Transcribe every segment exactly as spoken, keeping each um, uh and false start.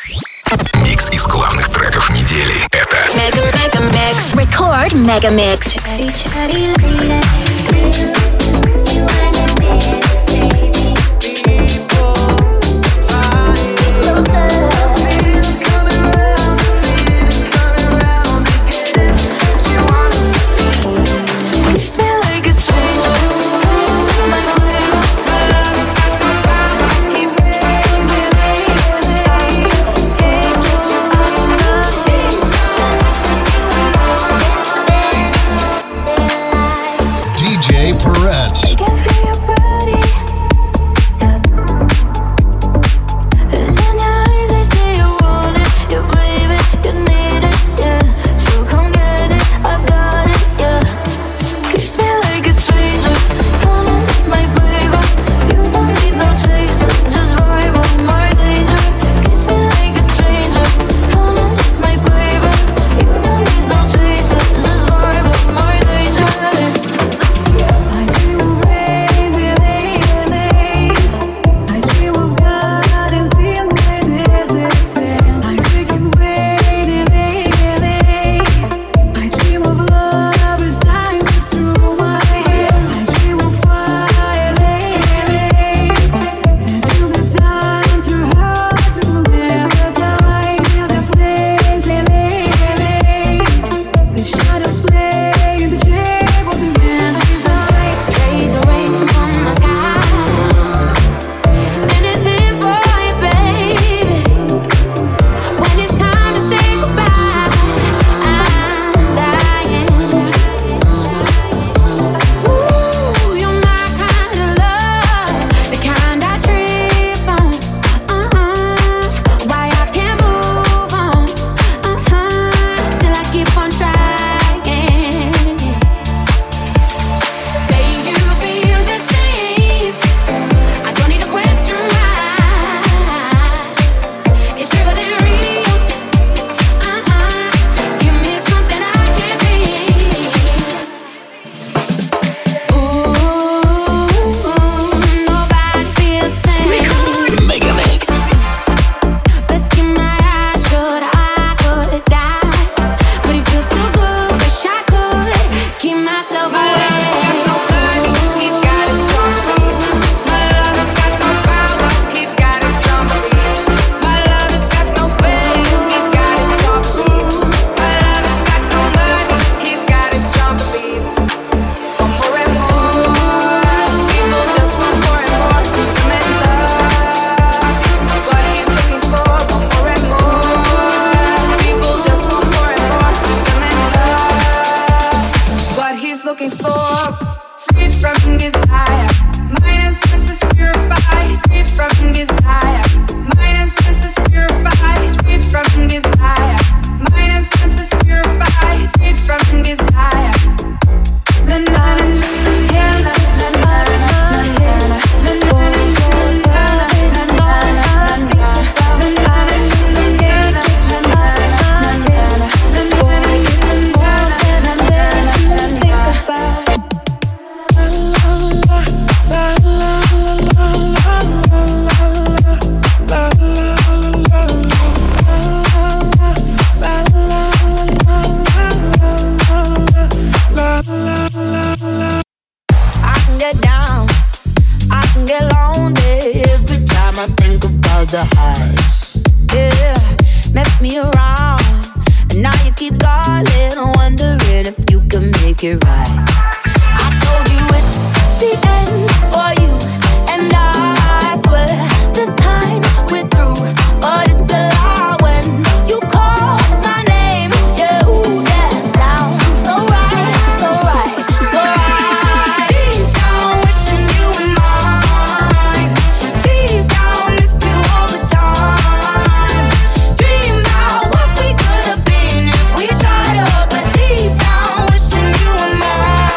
Микс из главных треков недели. Это Mega Mega Mix. Record Mega Mix. Chatty, chatty lady. Deep down, wishing you were mine.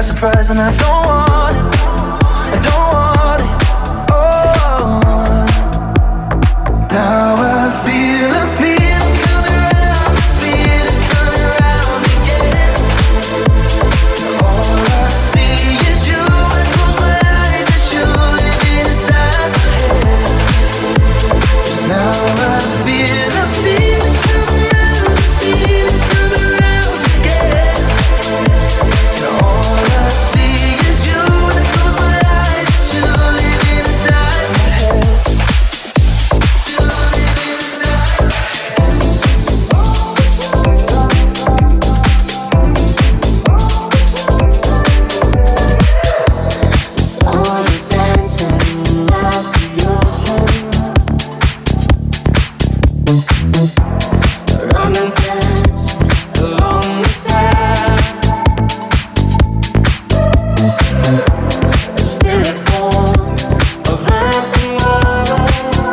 by surprise, and I don't want it. I don't want it. Oh, now I feel, I feel it coming around, I feel it coming around again. All I see is you. I close my eyes, it's you living inside my head. Now I feel, I feel it coming around, I feel it coming around again. All I see is you. I close my eyes, it's you living inside my head. You living inside my All the dancing at the ocean, running fast along the sand. A spirit born of earth and water,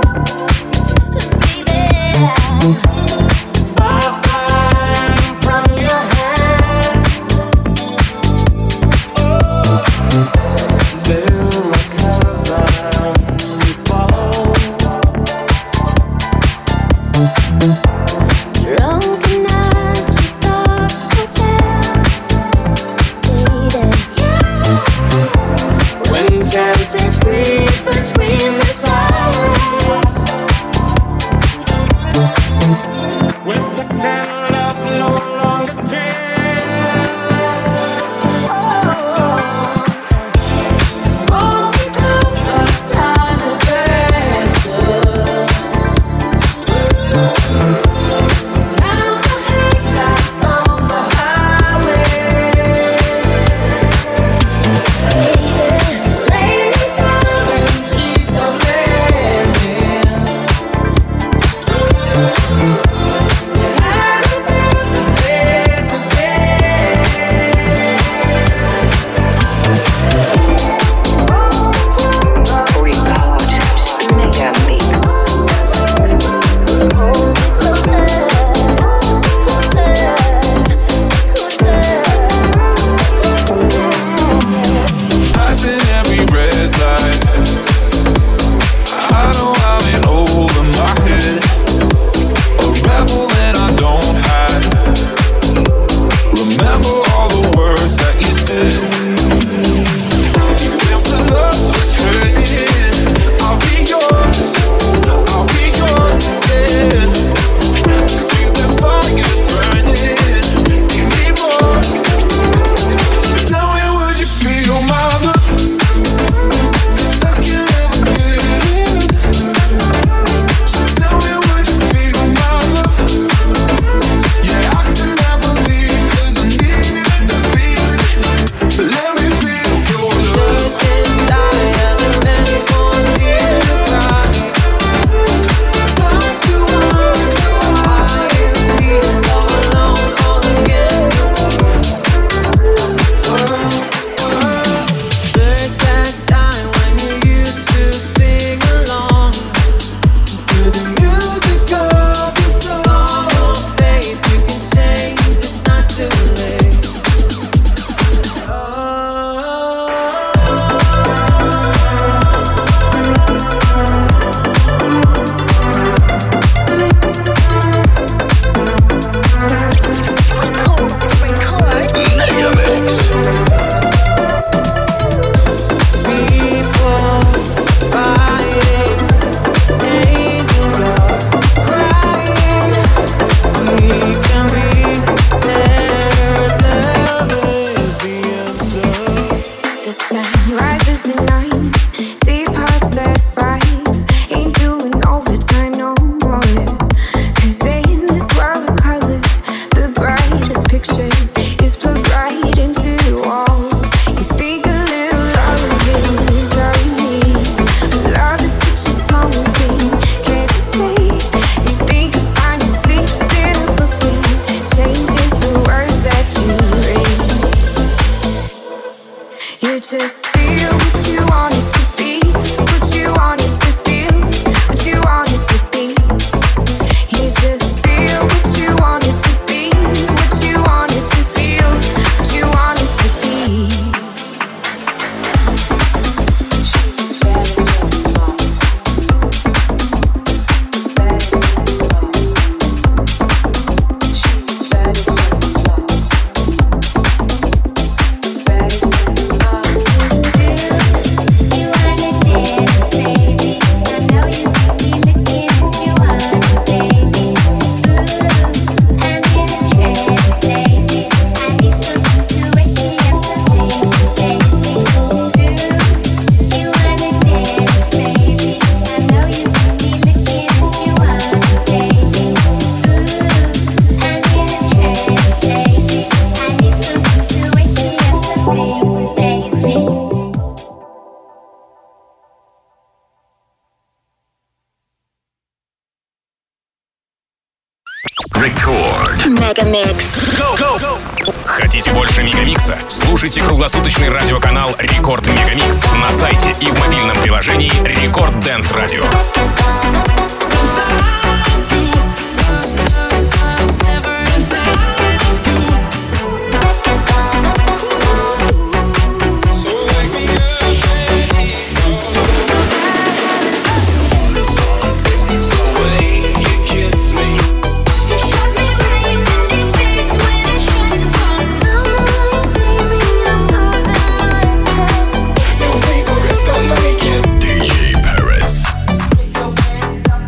baby, far, far from your hand. Build a caravan to follow. Drunken nights at dark hotel, baby. When chances creep Between the silence, when sex and love no longer dream. all because of time to dance. Count the headlights on the highway. Lay me down in sheets of linen. You had the best of days today. Record Mega Mix. Hold me closer, closer, closer. Passing every red light. I know I'm in over my head. A rebel that I don't hide. Remember all the words that you said. Even if the love was hurting, I'll be yours. I'll be yours again. Can feel the fire's burning. Give me more. So tell me, would you feel my love? Cause I can't ever get enough. So tell me, would you feel my love? Yeah, I can never leave, cause I need the feeling. Let me feel your love. There's that time when you used to sing along to the music of your song of faith. You can change, it's not too late. Record, record. Megamix. People fighting, angels are crying. We can be better, love is the answer. The sun rises at nine, deep hearts at five. Ain't doing overtime no more. Cause in this world of color, the brightest picture is plugged right into the wall. You think a little love is all you need. Love is such a small thing, can't you see? You think you find your seats in a book that changes the words that you read. You just feel what you want it to be, what you want it to feel, what you want it to be. You just feel what you want it to be, what you want it to feel, what you want it to be. Мегамикс. Хотите больше Мегамикса? Слушайте круглосуточный радиоканал Рекорд Мегамикс на сайте и в мобильном приложении Рекорд Дэнс Радио. Диджей Parrots.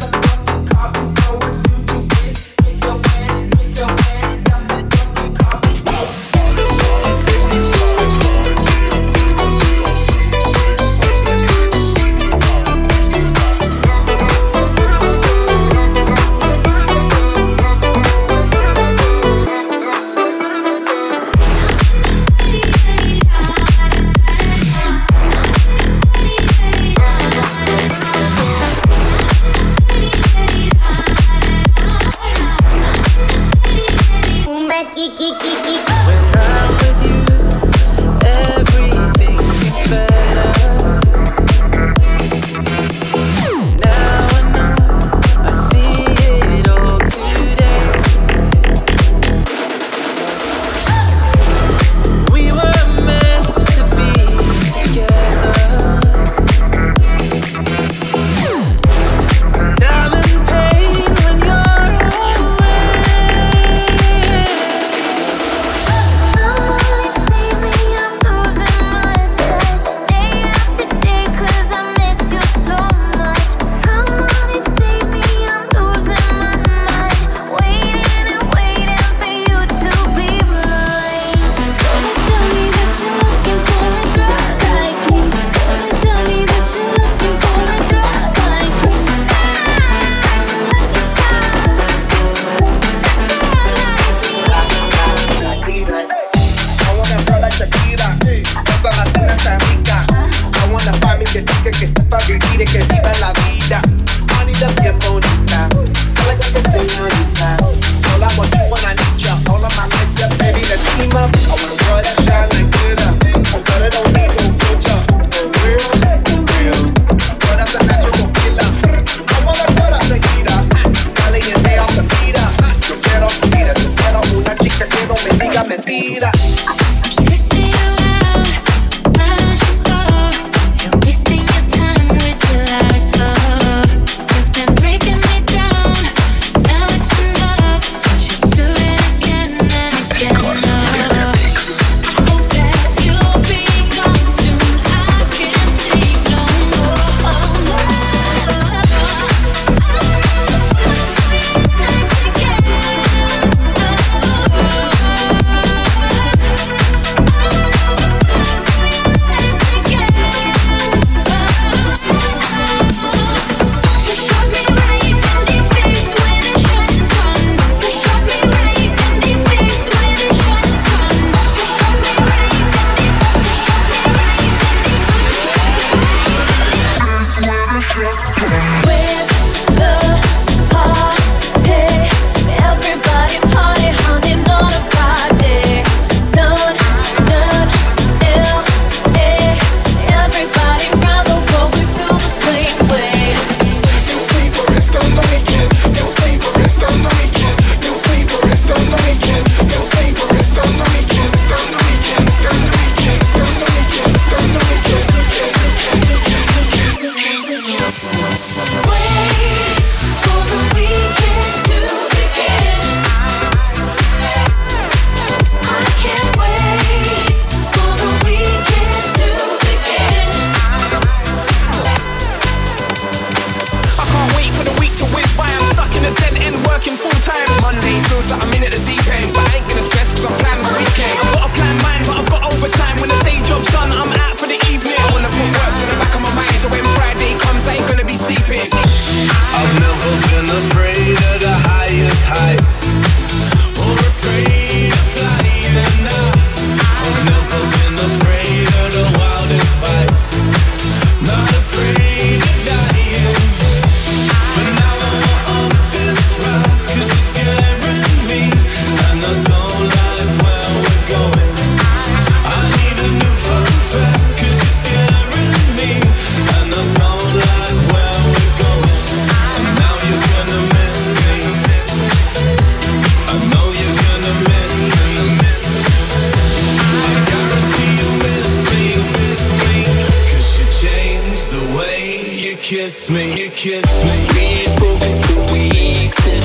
kiss me, you kiss me. We've spoken for weeks and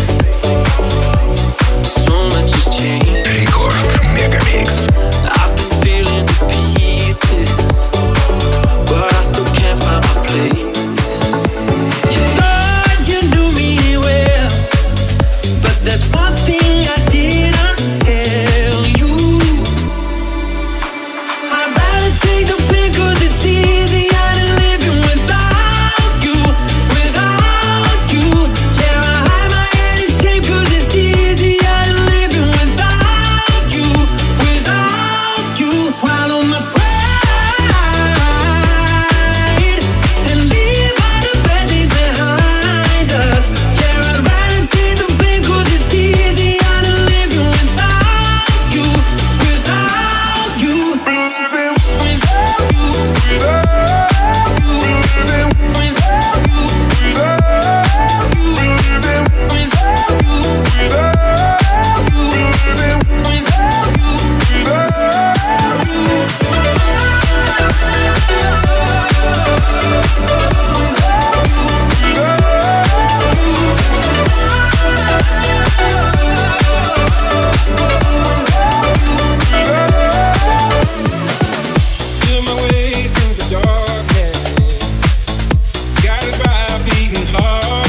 so much has changed. Рекорд Мегамикс. I've been feeling the pieces, but I still can't find my place. You thought you knew me well, but there's one thing I didn't tell you. I'd rather take the pain 'cause it's easier than living without you, without you. Yeah, I hide my head in shame 'cause it's easier than living without you, without you. Swallow my pride and leave all the bad things behind us. Yeah, I'd rather take the pain 'cause it's easier than living without you, without you. Living without you, without you. Living without you, without you. Living without you, without you. Living without you, without you. Feel my way through the darkness, guided by a beating heart.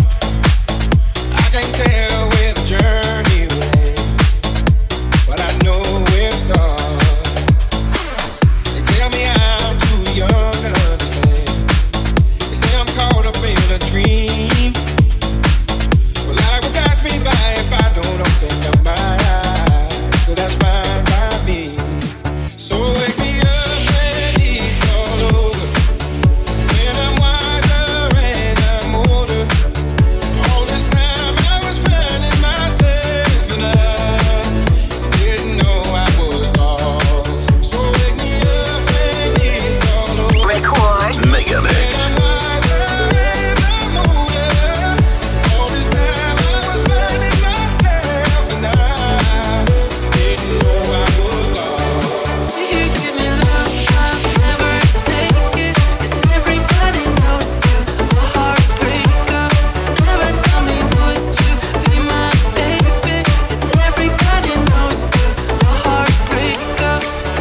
I can't tell where the journey will end, but I know where it starts. They tell me I'm too young to understand. They say I'm caught up in a dream. Well, life will pass me by if I don't open up my eyes, so that's fine by me. So wake me up when it's all over, when I'm wiser and I'm older. All this time I was finding myself and I didn't know I was lost. So wake me up when it's all over. Record Мегамикс. I'm wiser and I'm older. All this time I was finding myself and I didn't know I was lost. You give me love, I'll never take it. 'Cause everybody knows you a heartbreaker. Never tell me would you be my baby? 'Cause everybody knows you a heartbreaker.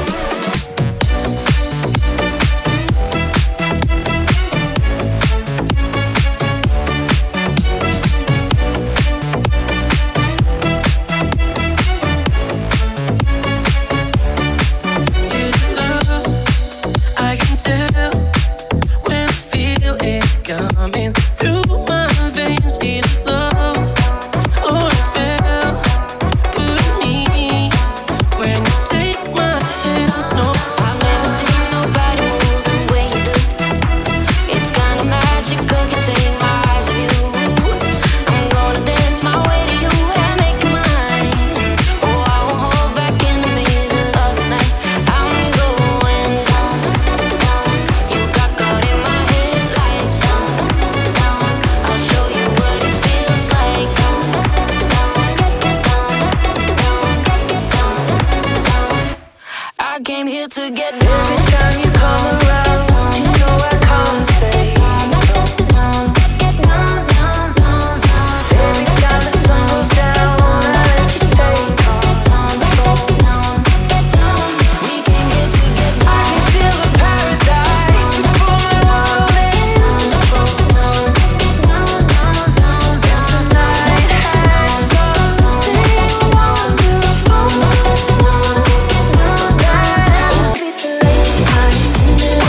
Is love? I can tell when I feel it coming through my veins. Is love or a spell put me when you take my hands? No, I've never seen nobody move the way you do. It's kinda magical, can take my eyes off you. I'm gonna dance my way to you and make you mine. Oh, I won't hold back in the middle of the night. I'm going down, down, down. You got caught in my headlights. Down, down, down. I'll show you what it feels like. Down, down, get get down, down, get get down, down. I came here to get down. Every time you come around, you know I can't say no. Get down, down, down, down. Every time the sun goes down, I let you take control. We came here to get down. I can feel the paradise before my love ends. Tonight had something wonderful. Sleeping late, I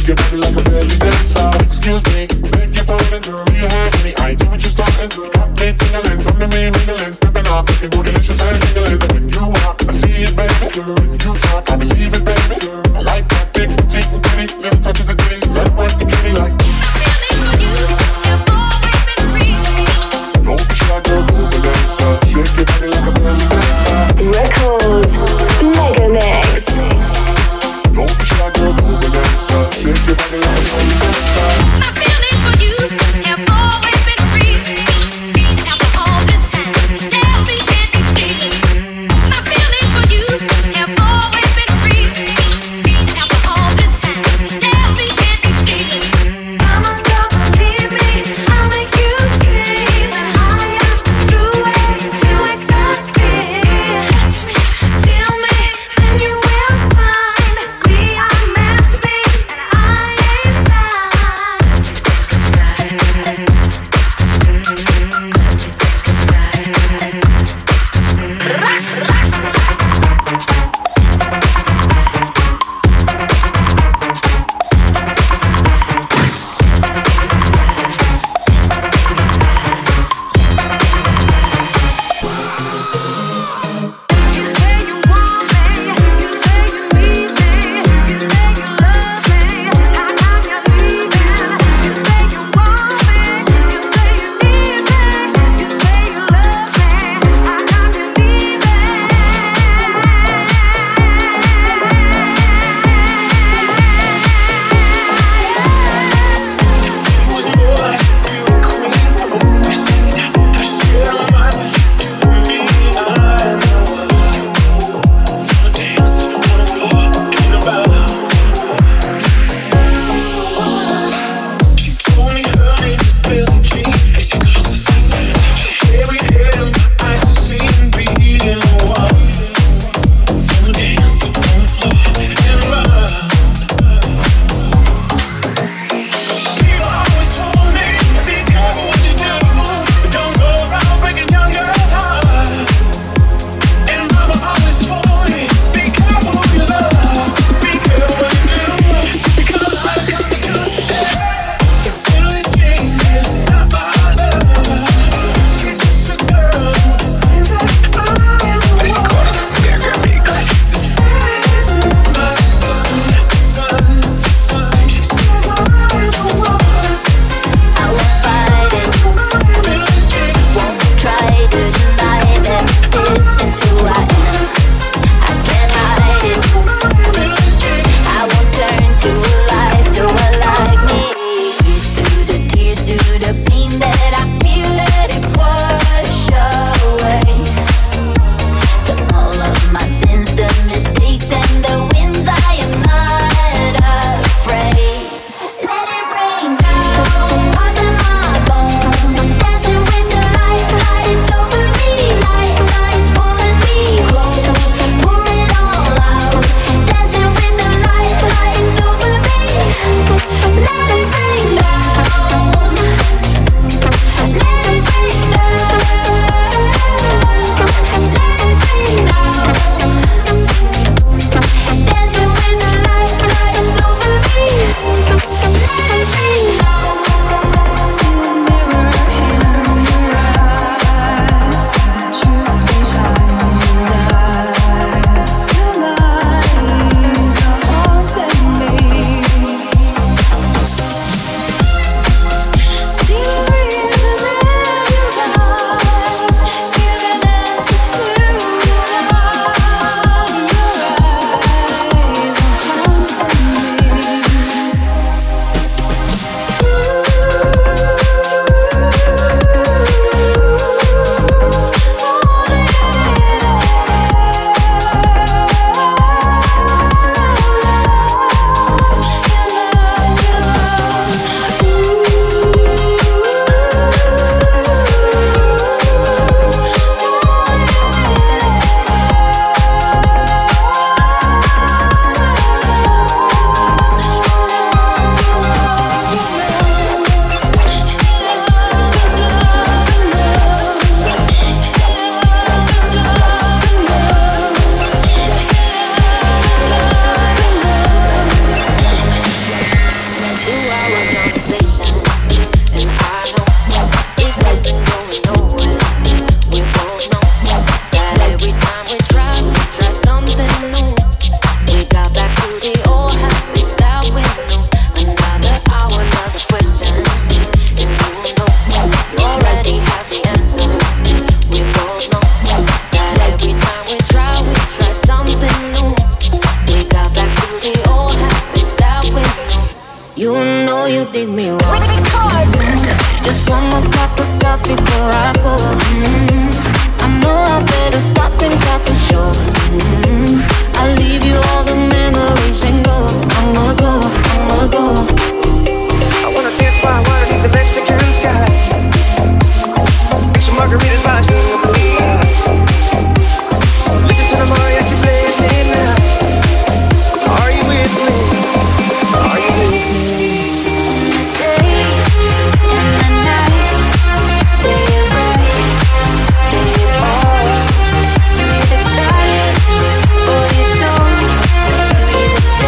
Shake your body like a belly dancer. Excuse me, beg your pardon, girl. Do you have any idea what you're starting? Got me tingling from the main mingling, stepping off, looking bootylicious and tingling. When you walk, I see it, baby. Girl, when you talk, I believe it, baby. Girl, I like that thick, petite, and pretty. Little touches of ditty, let it work the kitty like. Records Mega Mix. Don't be shy, girl, go Balanza. Shake your body like a belly dancer. My feelings for you have always been free. After all this time, tell me, can't you You know you did me wrong. Just one more cup of coffee before I go. Mm-hmm. I know I better stop and cut the show. Mm-hmm. I'll leave you all the memories and go. I'ma go, I'ma go. I wanna dance by water beneath the Mexican sky. Make some margaritas by the blue light. Listen to the mariachi play at midnight. Are you with me? Are you with me? Say it right, say it wrong. You either got it or you don't. You either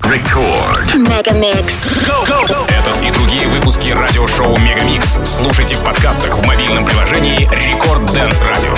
Record. Мегамикс. Этот и другие выпуски радиошоу Мегамикс слушайте в подкастах в мобильном приложении Record Dance Radio.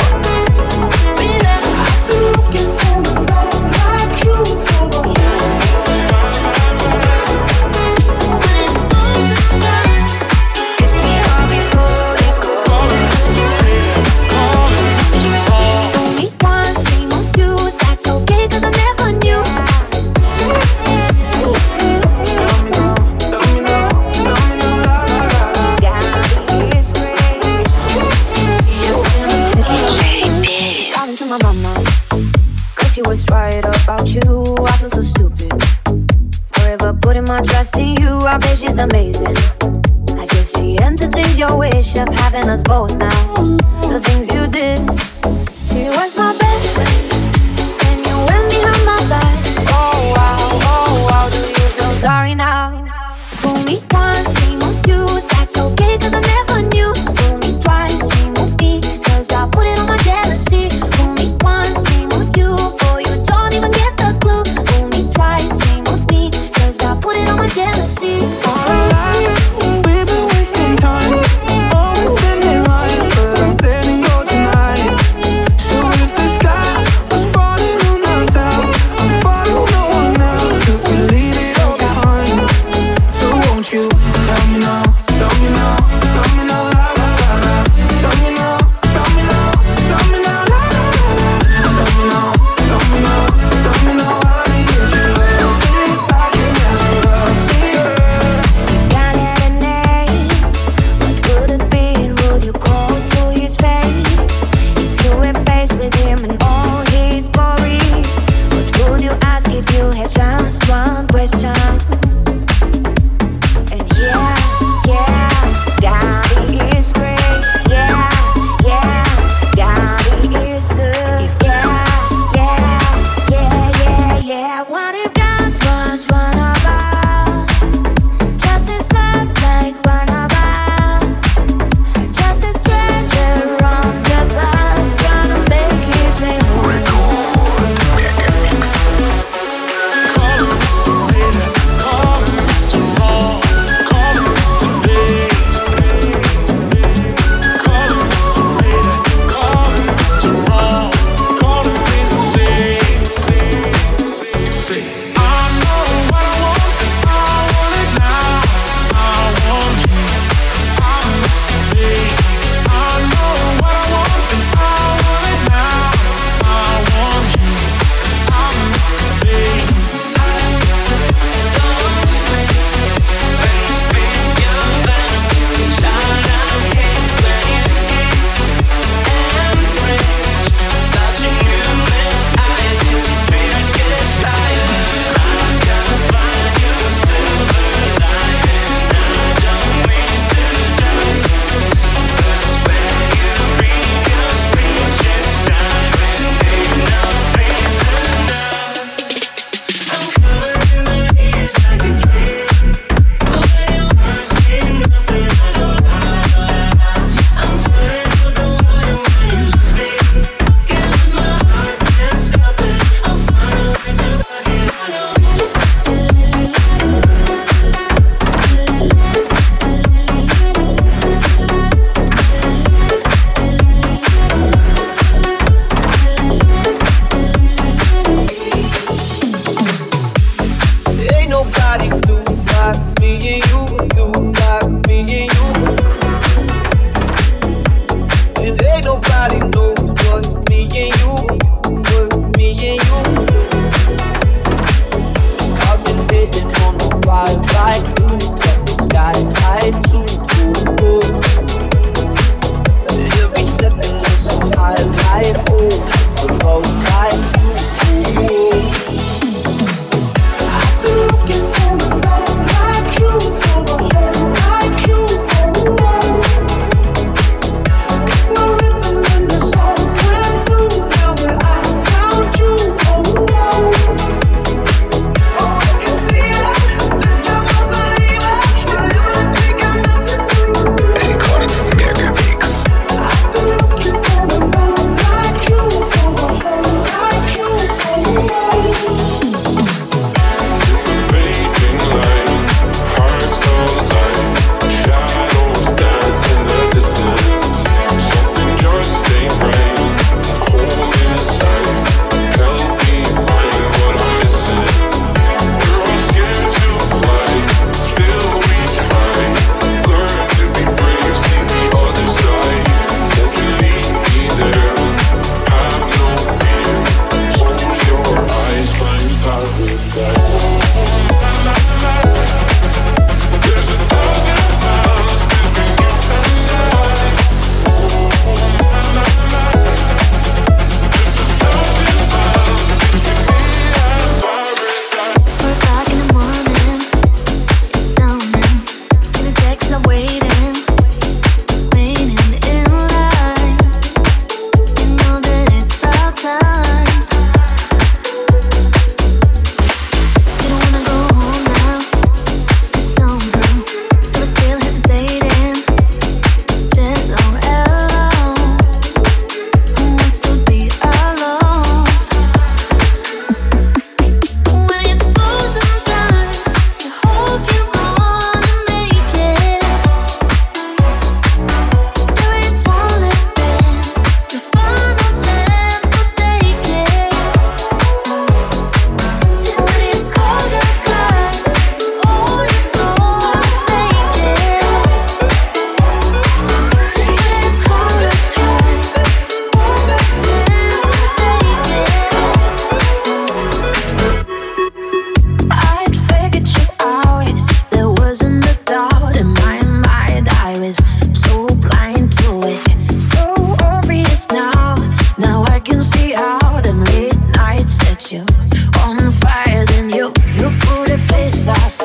Right about you, I feel so stupid. Forever putting my trust in you, I bet she's amazing. I guess she entertained your wish of having us both now. The things you did, she was my best friend, and you went behind my back. Oh wow, oh wow, do you feel sorry now? Fool me once, same with you, that's okay, cause I never knew. Fool me twice, same with me, cause I put it on my jealousy. Fool me once, same with you, don't even get the clue. Fool me twice, same with me, cause I put it on my jealousy. All our lives, we've been wasting time. Always sending line, but I'm letting go tonight. So if the sky was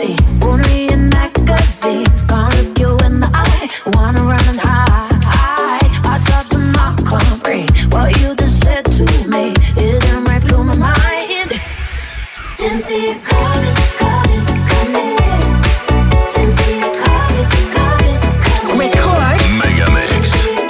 see. Only in magazines, can't look you in the eye. Wanna run and hide. Hot stops and not comprehend what you just said to me. It didn't right blew my mind. Didn't see it coming, coming, coming. Didn't see it coming, coming, coming. Record Megamix.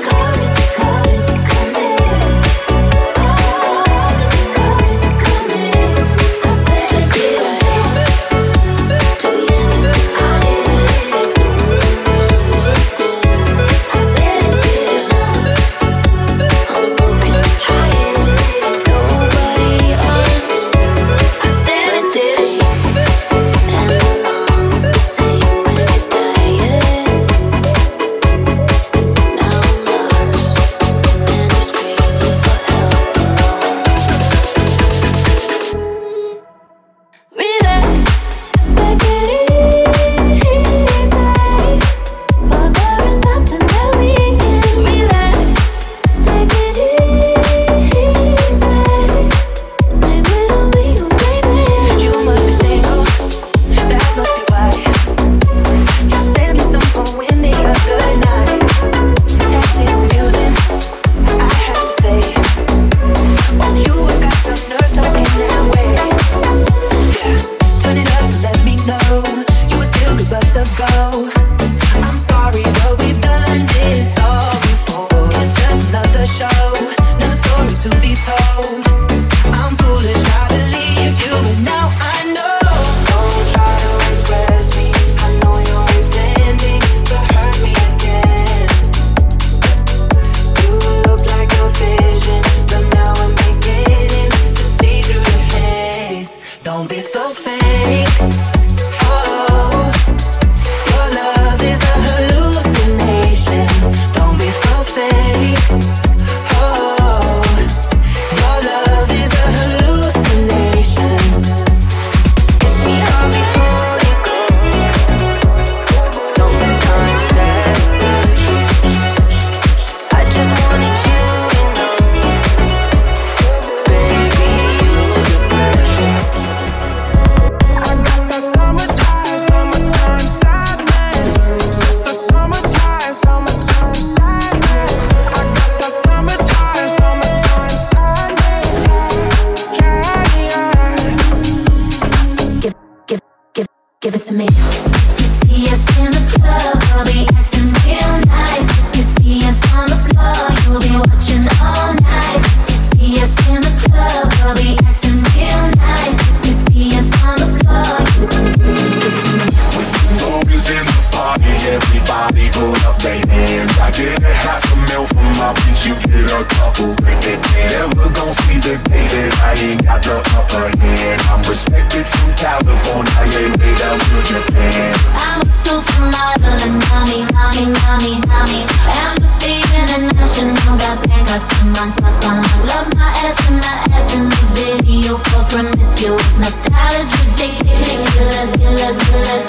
Give it to me. You see us in the club, we'll be acting real nice. You see us on the floor, you'll be watching all night. You see us in the club, we'll be acting real nice. You see us on the floor, give it to me, give it to me, give it to me. Always in the party, everybody put up their hands. I get a half a mil from my bitch, you get a couple. Never gon' see the day that I ain't got the upper hand. I'm respected from California, yeah, way down to Japan. I'm a supermodel and mommy, mommy, mommy, mommy. I'm just international, got bank, got two months, I love my ass and my abs in the video for promiscuous. My style is ridiculous, ridiculous, ridiculous.